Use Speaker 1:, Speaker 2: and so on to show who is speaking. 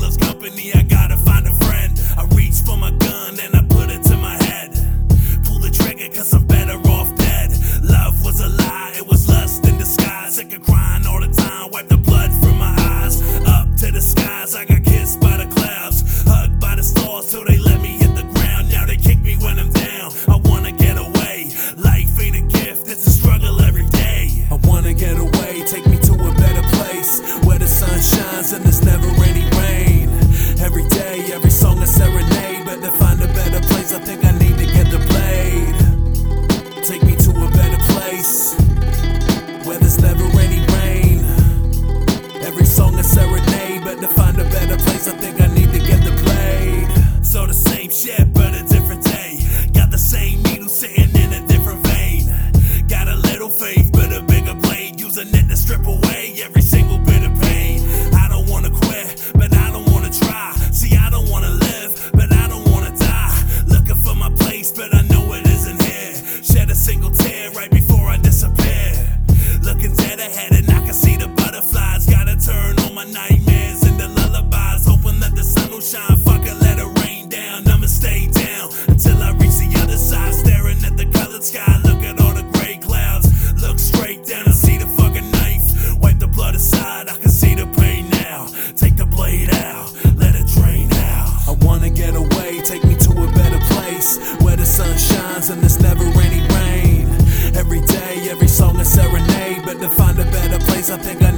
Speaker 1: loves company, I gotta find a friend. I reach for my gun and I put it to my head. Pull the trigger cause I'm better off dead. Love was a lie, it was lust in disguise. Sick of crying all the time, wipe the blood from my eyes. Up to the skies, I got kissed by the clouds. Hugged by the stars till they let me hit the ground. Now they kick me when I'm down, I wanna get away. Life ain't a gift, it's a struggle every day. I wanna get away, take me to a better place, where the sun shines and there's never any rain. Every day, every song a serenade, but to find a better place I think I need to get the blade. Take me to a better place, where there's never any rain. Every song a serenade, but to find a better place I think I need to get the blade. So the same shit but a different day. Got the same needle sitting in a different vein. Got a little faith but a bigger blade, using it to strip away every single bit of pain. I don't wanna quit, but I don't wanna try. See, I don't wanna live, but I don't wanna die. Looking for my place, but I know it isn't here. Shed a single tear right before I disappear. Looking dead ahead and I can see the butterflies. Gotta turn all my nightmares into lullabies, hoping that the sun will shine. Fuck it, let it rain down, I'ma stay down until I reach the other side. Staring at the colored sky, look at all the gray clouds. Look straight down and see the fucking knife. Wipe the blood aside, I can see the pain now. Take the blade out, let it drain out. I wanna get away, take me to a better place, where the sun shines and there's never any rain. Every day, every song a serenade, but to find a better place I think I